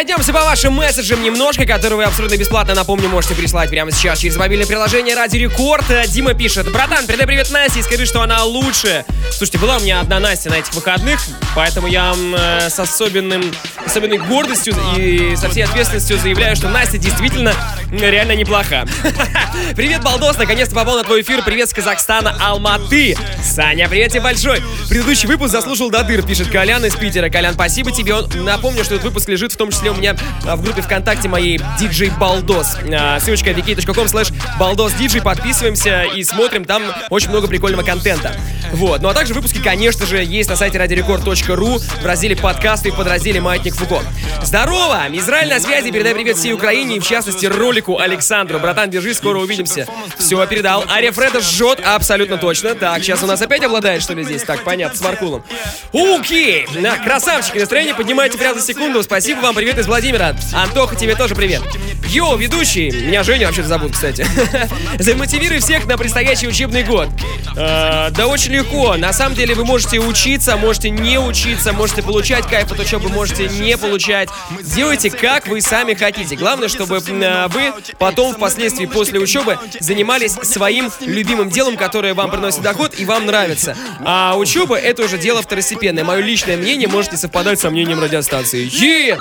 Пройдемся по вашим месседжам немножко, которые вы абсолютно бесплатно, напомню, можете прислать прямо сейчас через мобильное приложение Радио Рекорд. Дима пишет: братан, передай привет Насте и скажи, что она лучше. Слушайте, была у меня одна Настя на этих выходных, поэтому я э, с особенным, особенной гордостью и со всей ответственностью заявляю, что Настя действительно реально неплоха. Привет, Балдос, наконец-то попал на твой эфир. Привет с Казахстана, Алматы. Саня, привет тебе большой. Предыдущий выпуск заслушал до дыр, пишет Колян из Питера. Колян, спасибо тебе. Он, напомню, что этот выпуск лежит в том числе у меня в группе ВКонтакте моей диджей Балдос. Ссылочка ви кей точка ком слэш балдос диджей. Подписываемся и смотрим, там очень много прикольного контента. Вот. Ну а также выпуски, конечно же, есть на сайте радиорекорд точка ру в разделе подкасты и в подразделе Маятник Фуко. Здорово! Израиль на связи, передай привет всей Украине и в частности ролику Александру. Братан, держись, скоро увидимся. Все, передал. Ария Фреда жжет, абсолютно точно. Так, сейчас у нас опять обладает, что ли, здесь? Так, понятно, с Маркулом. Окей! На, красавчики, настроение поднимаете прямо за секунду. Спасибо вам, привет из Владимира. Антоха, тебе тоже привет. Йоу, ведущий. Меня Женя вообще-то зовут, кстати. Замотивируй всех на предстоящий учебный год. Э, да очень легко. На самом деле вы можете учиться, можете не учиться, можете получать кайф от учебы, можете не получать. Делайте, как вы сами хотите. Главное, чтобы э, вы потом, впоследствии, после учебы, занимались своим любимым делом, которое вам приносит доход и вам нравится. А учеба — это уже дело второстепенное. Мое личное мнение может не совпадать со мнением радиостанции. Е!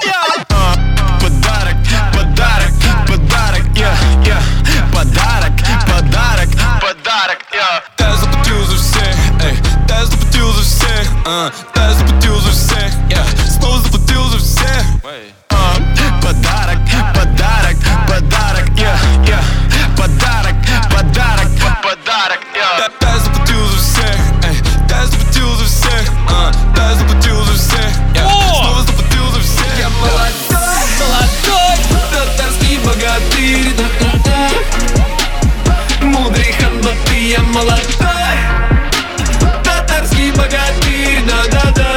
Подарок, подарок, подарок, я, я. Подарок, подарок, подарок, я. Та заплатил за всех, эй, та заплатил за всех, а, та заплатил за всех, я. Снова заплатил за всех. А, подарок, подарок, подарок, я, я. Подарок, подарок, подарок, я. Та заплатил за всех, эй, та заплатил за всех, а, та заплатил за всех, я. Снова заплатил за всех. Я молодой, молодой, татарский богатырь, да-да-да. Мудрый ханбаты, я молодой, татарский богатырь, да-да-да.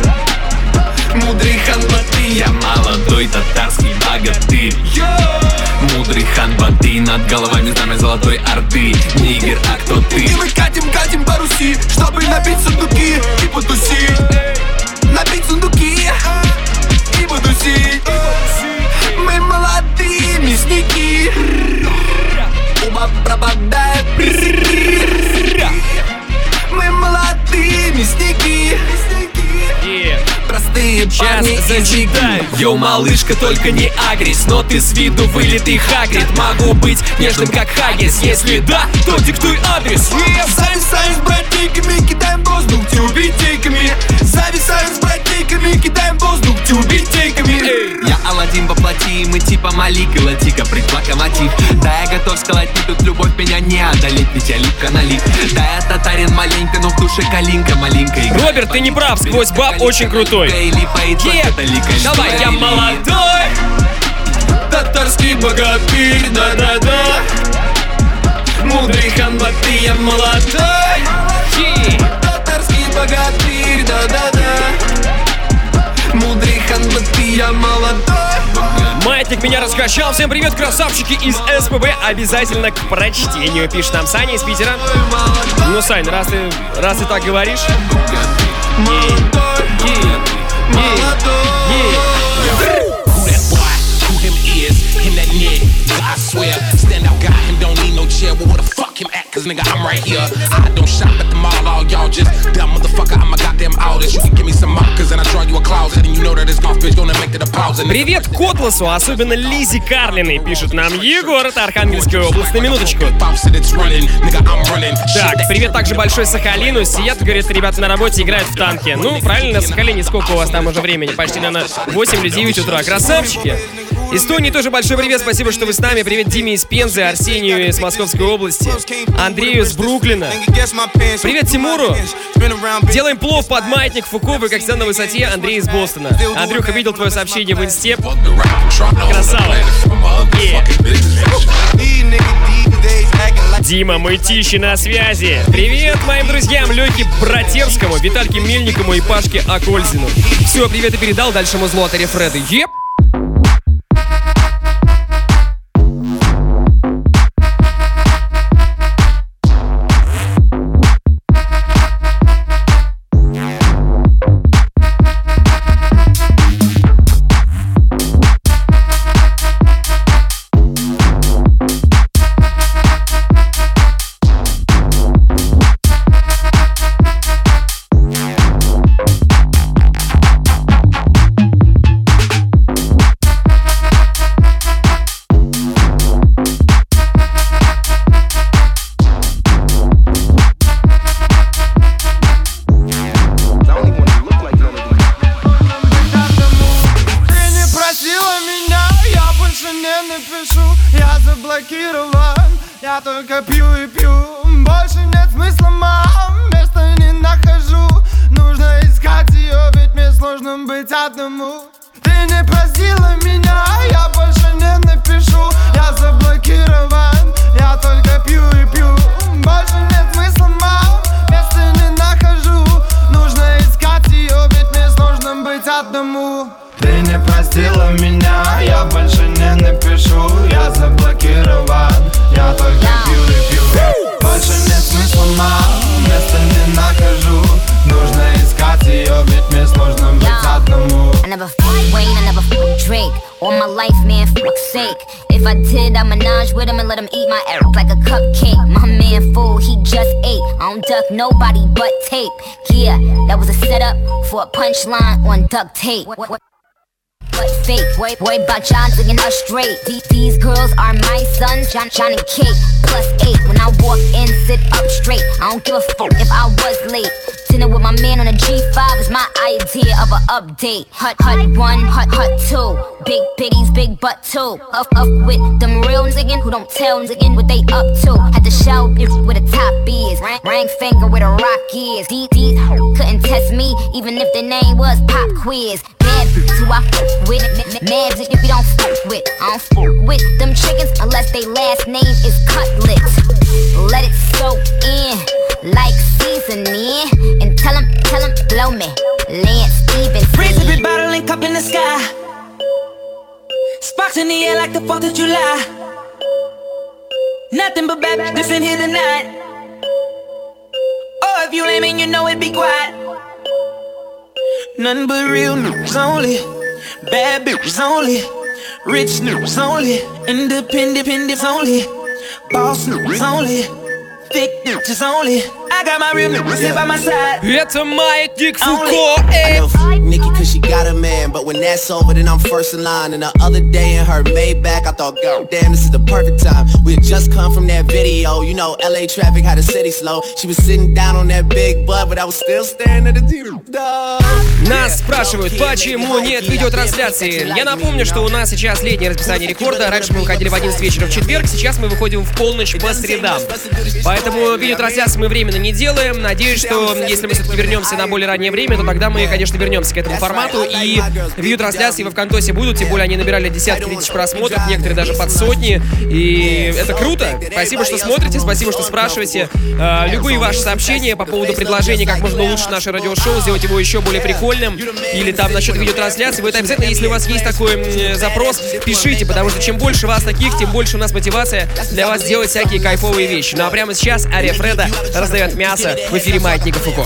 Мудрый ханбаты, я молодой, татарский богатырь. Мудрый ханбаты, над головами знамя золотой орды. Нигер, а кто ты? И мы катим, катим по Руси, чтобы набить сундуки и потусить. Набить сундуки и потусить. Мы молодые мясники. Уба пропадает. Мы молодые мясники. Простые парни зачитаю. Йоу, малышка, только не агрись, но ты с виду вылитый Хагрид. Могу быть нежным, как Хаггис. Если да, то диктуй адрес. Зависаем с братейками, кидаем воздух тюбетейками. Зависаем с братейками, кидаем воздух тюбетейками. Я Аладдин воплоти, мы типа Малик и Латика, предплакомотив. Да, я готов сказать, не тут любовь меня не одолеть, ведь я липко налип. Да, я татарин маленько, но в душе калинка маленькая. Роберт, ты не прав, сквозь баб очень крутой. Кет, давай, я молодой, татарский богатырь, да-да-да. Мудрый ханбаты, я молодой, татарский богатырь, да-да-да. Мудрый ханбаты, я молодой. Маятник меня раскачал. Всем привет, красавчики из эс пэ бэ. Обязательно к прочтению, пишет нам Саня из Питера. Ну, Сань, раз ты, раз ты так говоришь. Cause nigga, I'm right here. I don't shop at the mall, all y'all just dumb motherfucker. I'm a goddamn artist. You can give me some markers and I draw you a closet. And you know that this golf bitch gonna make it a pause. Привет Котласу, особенно Лизе Карлиной, пишет нам Егор, это Архангельская область, на минуточку. Так, привет также большой Сахалину. Сидят, говорят, ребята на работе играют в танки. Ну, правильно, на Сахалине сколько у вас там уже времени? Почти, наверное, восемь или девять утра. Красавчики! Эстонии тоже большой привет, спасибо, что вы с нами. Привет Диме из Пензы, Арсению из Московской области, Андрею из Бруклина. Привет Тимуру. Делаем плов под Маятник Фуко, вы как всегда на высоте. Андрей из Бостона. Андрюха, видел твое сообщение в инсте. Красава. Yeah. Дима Мытищи на связи. Привет моим друзьям Лёхе Братерскому, Витальке Мельникову и Пашке Акользину. Все, привет и передал дальше музлу от Ария Фреды. Еп! пью. Больше нет смысла, мам, места не нахожу. Нужно искать ее, ведь мне сложно быть одному. Ты не простила меня, я больше не напишу. Я заблокирован, я только пью и пью. Больше нет смысла, мам, места не нахожу. Нужно искать ее, ведь мне сложно быть одному. Ты не простила меня, я больше не напишу. Я заблокирован, я только пью и пью. Больше нет смысла, мам, места не нахожу. Нужно искать ее, ведь мне сложно быть одному. I never f***ed Wayne, I never f***ed Drake. All my life, man, fuck's sake. If I did, I'd menage with him and let him eat my ass like a cupcake. My man fool, he just ate. I don't duck nobody but tape. Yeah, that was a setup for a punchline on duct tape. What, what? But fake, boy, boy, about John digging us straight. These, these girls are my sons, John, John and Kate, plus eight. When I walk in, sit up straight. I don't give a fuck if I was late. Dinner with my man on a G five is my idea of an update. Hut, hut one, hut, hut two. Big bitties, big butt too. Up, up with them real niggas who don't tell niggas what they up to. Had to show bitch where the top is. Ring, ring finger where the rock is. These, these couldn't test me, even if their name was Pop Quiz. Bad bitch who I fuck with. Mad bitch if you don't fuck with. I don't fuck with them chickens unless they last name is Cutlet. Let it soak in like seasoning. And tell him, tell him, blow me. Lance Stevens. Freeze every bottle and cup in the sky. Sparks in the air like the fourth of July. Nothing but bad bitches in here tonight. Oh, if you lame and you know it, be quiet. Nothing but real news only. Bad bitches only. Rich news only. Independent independents only. Boss news only. Thick bitches only. I got my real niggas here by my side. Это Маятник Фуко. Nikki, cause she got a man, but when that's over, then I'm first in line. And the other day in her Maybach, I thought, God damn, this is the perfect time. We had just come from that video, you know, L A traffic had the city slow. She was sitting down on that big butt, but I was still staring at the T V. Нас спрашивают, почему нет видеотрансляции. Я напомню, что у нас сейчас летнее расписание рекорда. Раньше мы выходили в одиннадцать вечера в четверг, сейчас мы выходим в полночь по средам. Поэтому видеотрансляции мы временно не делаем. Надеюсь, что если мы все-таки вернемся на более раннее время, то тогда мы, конечно, вернемся к этому формату. И видеотрансляции во ВКонтосе будут, тем более они набирали десятки тысяч просмотров, некоторые даже под сотни. И это круто. Спасибо, что смотрите, спасибо, что спрашиваете. Э, любые ваши сообщения по поводу предложений, как можно улучшить наше радиошоу, сделать его еще более прикольным, или там насчет видеотрансляции, вы это обязательно, если у вас есть такой м, запрос, пишите, потому что чем больше вас таких, тем больше у нас мотивация для вас делать всякие кайфовые вещи. Ну а прямо сейчас Ария Фреда раздает мясо в эфире Маятника Фуко.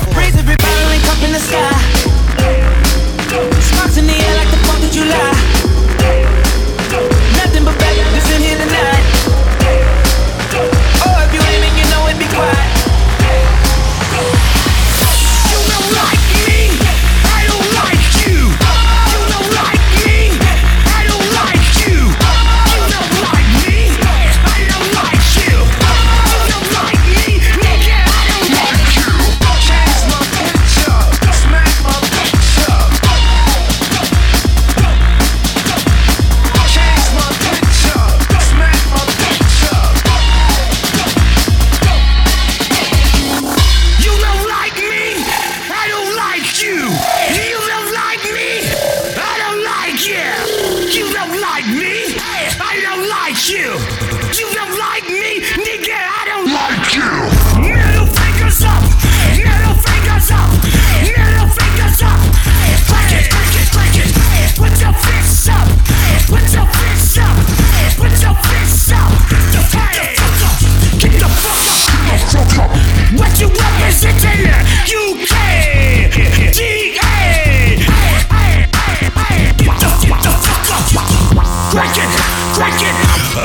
What you representing? U K D A. Get the fuck up. Crack it, crack it.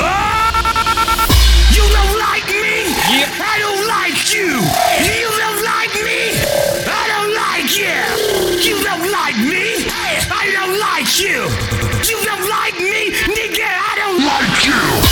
You don't like me. I don't like you. You don't like me. I don't like you. You don't like me. I don't like you. You don't like me, nigga. I don't like you.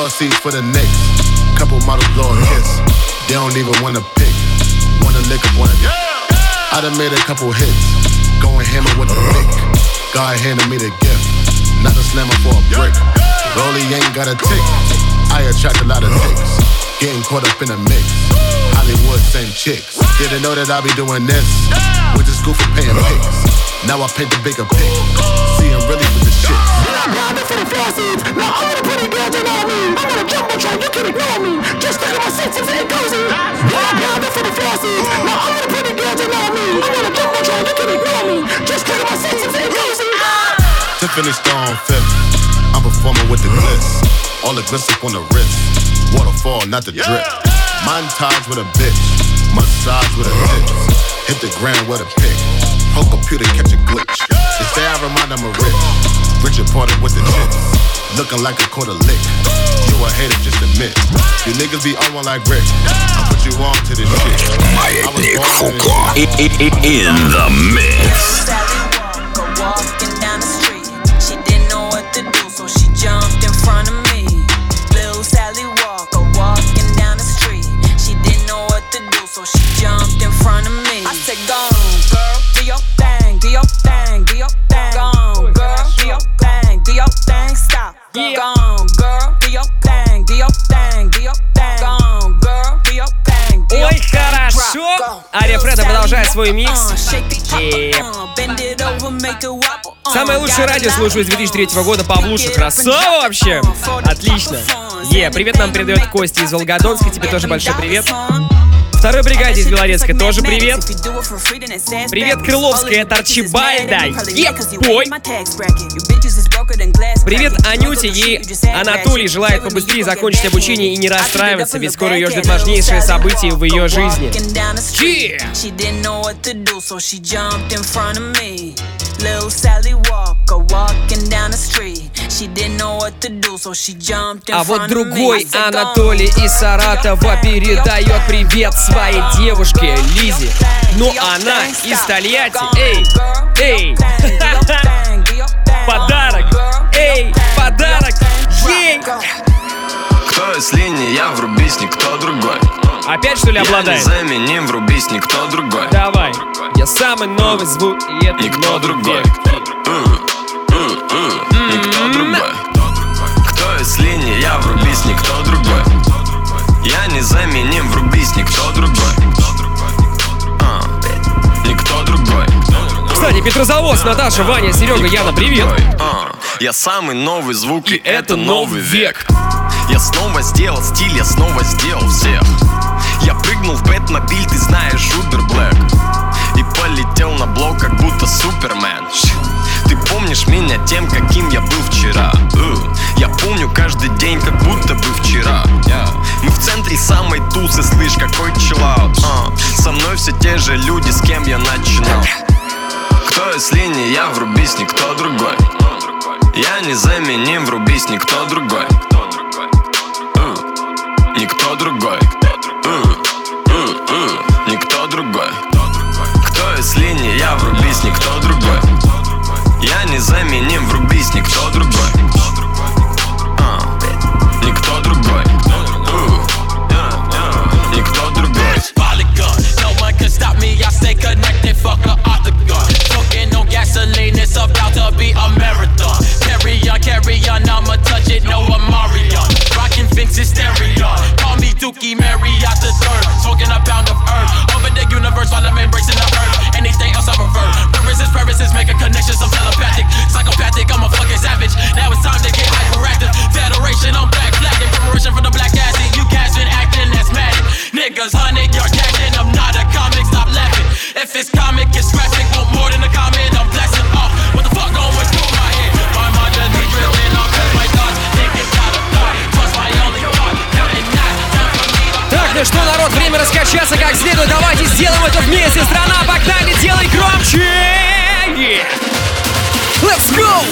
Floor seats for the Knicks. Couple models blow a kiss. They don't even wanna pick. Wanna lick up, wanna dick. I done made a couple hits. Going hammer with a pick. God handed me the gift. Not a slammer for a brick. Rollie ain't got a tick. I attract a lot of ticks. Getting caught up in the mix. Hollywood, same chicks. Didn't know that I be doing this. With the school for paying pics. Now I paint the bigger pic. See, I'm really with the shit. Now I'm for the floor seats. Now all the pretty girls you know me. I'm on a jumbotron, you can ignore me. Just look at my seats and it cozy. Now I'm for the floor seats. Now all the pretty girls you know me. I'm on a jumbotron, you can ignore me. Just look at my seats and it cozy. Tiffany Stone fifth. I'm performing with the glitz. All the glitz up on the wrist. Waterfall, not the drip. Montage with a bitch. Massage with a tip. Hit the ground with a pick. Whole computer catch a glitch. They say I remind them of Rich. Richard Porter with the chips. Looking like a quarter lick. You a hater, just admit. You niggas be on one like Rick. I put you on to this shit. Маятник Фуко. In the mix. Walking down the street, she didn't know what to do, so she jumped in front of me. Little Sally Walker walking down the street, she didn't know what to do, so she jumped in front of me. I said, go on, girl, do your thing, do your thing, do your thing. Go on, girl, do your thing, do your thing, stop. Yeah. Go on, girl, do your thing, do your thing, do your thing. Go on, girl, do your thing, do your Ой, thing. хорошо! Ария Фреда продолжает свой микс. И... Самое лучшее радио слушаю с две тысячи третьего года. Павлуша, красава вообще! Отлично! Е, привет нам передает Костя из Волгодонска. Тебе тоже большой привет. Второй бригаде из Белорецка тоже привет. Привет, Крыловская, это Арчибальда. Еп, пой. Привет, Анюте. Ей Анатолий желает побыстрее закончить обучение и не расстраиваться, ведь скоро ее ждет важнейшее событие в ее жизни. Little Sally Walker walking down the street. She didn't know what to do, so she jumped in front of me. А вот другой Анатолий из Саратова передает привет своей девушке Лизе. Но она из Тольятти. Эй, эй, подарок, эй, подарок, ей. Кто если не я, врубись, никто другой. Опять что ли обладает? Я незаменим, врубись, никто другой. Давай, я самый новый звук, и это никто другой. Никто другой. Кто если не я, врубись, никто другой. Я незаменим, врубись, никто другой. Никто другой. Кстати, Петрозаводск, Наташа, Ваня, Серега, Яна, привет. Я самый новый звук, и это новый век. Я снова сделал стиль, я снова сделал всех. Я прыгнул в Бэтмобиль, ты знаешь, Uber Black. И полетел на блок, как будто Супермен. Ты помнишь меня тем, каким я был вчера. Я помню каждый день, как будто бы вчера. Мы в центре самой тусы, слышь, какой чиллаут. Со мной все те же люди, с кем я начинал. Кто если не я, врубись, никто другой. Я незаменим, врубись, никто другой. Никто другой. Никто другой. Кто если не я, врубись, никто другой. Я незаменим, врубись, никто другой. Никто другой. Никто другой. No one can stop me, I stay connected, fuck a octagon. Smoking on gasoline, it's about to be a marathon. Carry on, carry on, I'ma touch it, no Amarion. Rockin' Vince's stereo, call me Dookie Marriott the third. Smoking a pound of herb, over the universe while I'm embracing the earth. Anything else I prefer, purposes, purposes, making connections, I'm telepathic. Psychopathic, I'm a fucking savage, now it's time to get hyperactive. Federation, I'm black flagging, preparation for the black acid. You guys been acting asthmatic, niggas hundred yard catching. I'm not a comic, stop laughing. If it's comic, it's graphic, want more than a comment, I'm blasting off. What the fuck going through my head? My mind just be drifting off, cause my thoughts thinking out of thought. Trust my only thought, counting not time for me to... Так, ну что, народ, время раскачаться как следует. Давайте сделаем это вместе. Страна, погнали, делай громче! Yeah. Let's go!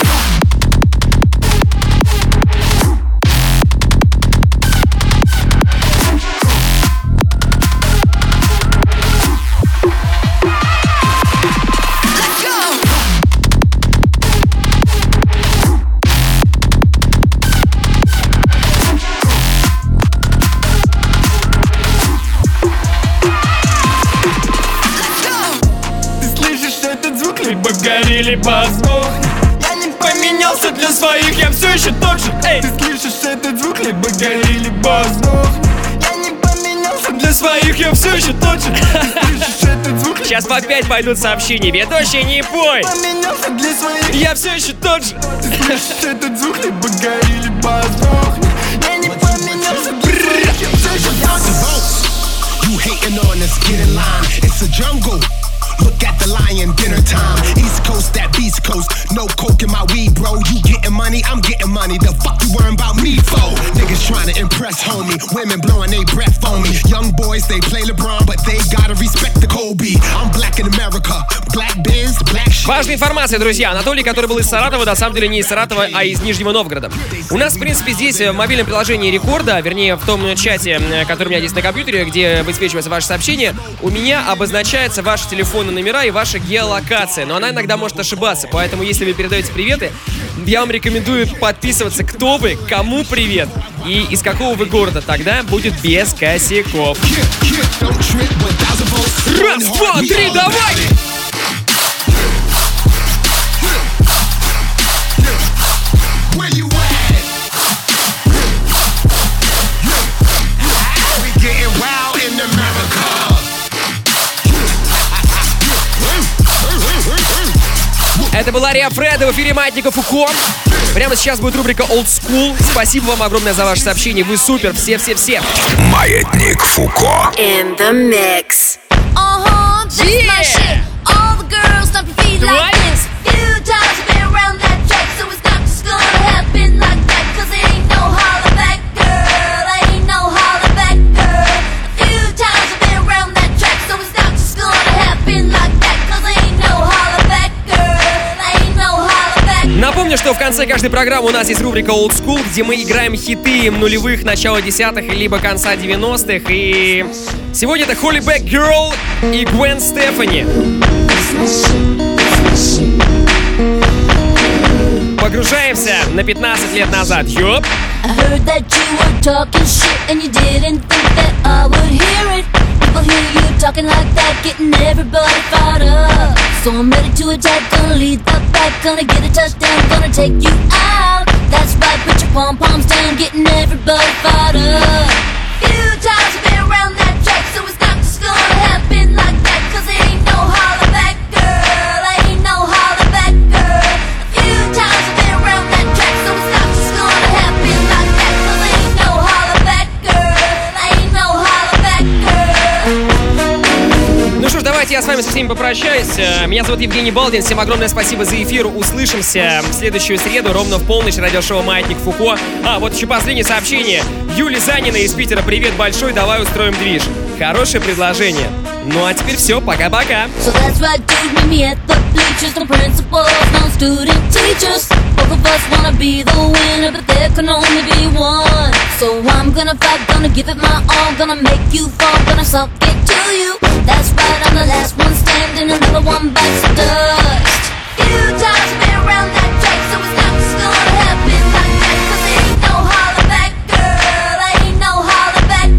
либо гори, либо сдохни. Я не поменялся для своих, я все еще тот же. Эй, ты слышишь этот звук, либо гори, либо сдохни. Я не поменялся для своих, я все еще тот же. Ты слышишь этот звук. Сейчас по пять пойдут сообщения. Ведущий, не пой. Поменялся для своих, я все еще тот же. Ты слышишь этот звук, либо гори, либо сдохни. Я не поменялся для своих, я все еще тот же. You hating on us, get in line. It's a jungle. Look at the lion, dinner time. East Coast, that Beast Coast. No coke in my weed, bro. You getting money, I'm getting money. The fuck you worrying about me for? Niggas trying to impress, homie. Women blowing they breath on me. Young boys, they play LeBron, but they gotta respect the Kobe. I'm black in America. Black Benz, black shit. Важная информация, друзья. Анатолий, который был из Саратова, на самом деле не из Саратова, а из Нижнего Новгорода. У нас, в принципе, здесь в мобильном приложении Рекорда, вернее, в том чате, который у меня здесь на компьютере, где высвечивается ваше сообщение, у меня обозначается ваши телефонные номера и ваша геолокация. Но она иногда может ошибаться, поэтому, если вы передаете приветы, я вам рекомендую подписываться, кто вы, кому привет и из какого вы города. Тогда будет без косяков. Раз, два, три, давай! Это была Риа Фреда в эфире Маятника Фуко. Прямо сейчас будет рубрика Old School. Спасибо вам огромное за ваше сообщение. Вы супер, все-все-все. Маятник Фуко. In the mix. Uh-huh, that's Yeah. my shit. All the girls stomp your feet like this. Few times I've been around that track, so it's not just gonna happen like that. Cause it ain't no holler back, girl. Ain't no holler back, girl. A few times I've been around that track, so it's not just gonna happen like that. Cause it ain't no holler back, girl. Ain't no holler back. Напомню, что в конце каждой программы у нас есть рубрика Old School, где мы играем хиты нулевых, начала десятых, либо конца девяностых. И сегодня это Holy Back Girl и Гвен Стефани. Погружаемся на пятнадцать лет назад. Ёп! I heard that you were talking shit and you didn't think that I would hear it. People hear you talking like that, getting everybody fired up. So I'm ready to attack, gonna lead the back, gonna get a touchdown, gonna take you out. That's right, put your pom-poms down, getting everybody fired up. Few times I've been around that track, so it's not just gonna happen like that. Cause it ain't no holler back, girl, ain't no holler back, girl. A few times I've been around that track, so it's not just gonna happen like that. Cause it ain't no holler back, girl, ain't no holler back, girl. Ну что ж, давайте я с вами со всеми попрощаюсь. Меня зовут Евгений Балдин. Всем огромное спасибо за эфир. Услышимся в следующую среду ровно в полночь. Радиошоу «Маятник Фуко». А, вот еще последнее сообщение. Юли Занина из Питера. Привет большой, давай устроим движ. Хорошее предложение. Ну а теперь все, пока-пока. So that's right, dude, meet me at the bleachers. No principals, no student teachers. Both of us wanna be the winner, but there can only be one. So I'm gonna fight, gonna give it my all, gonna make you fall, gonna suck it to you. That's right, I'm the last one standing, another one bites the dust.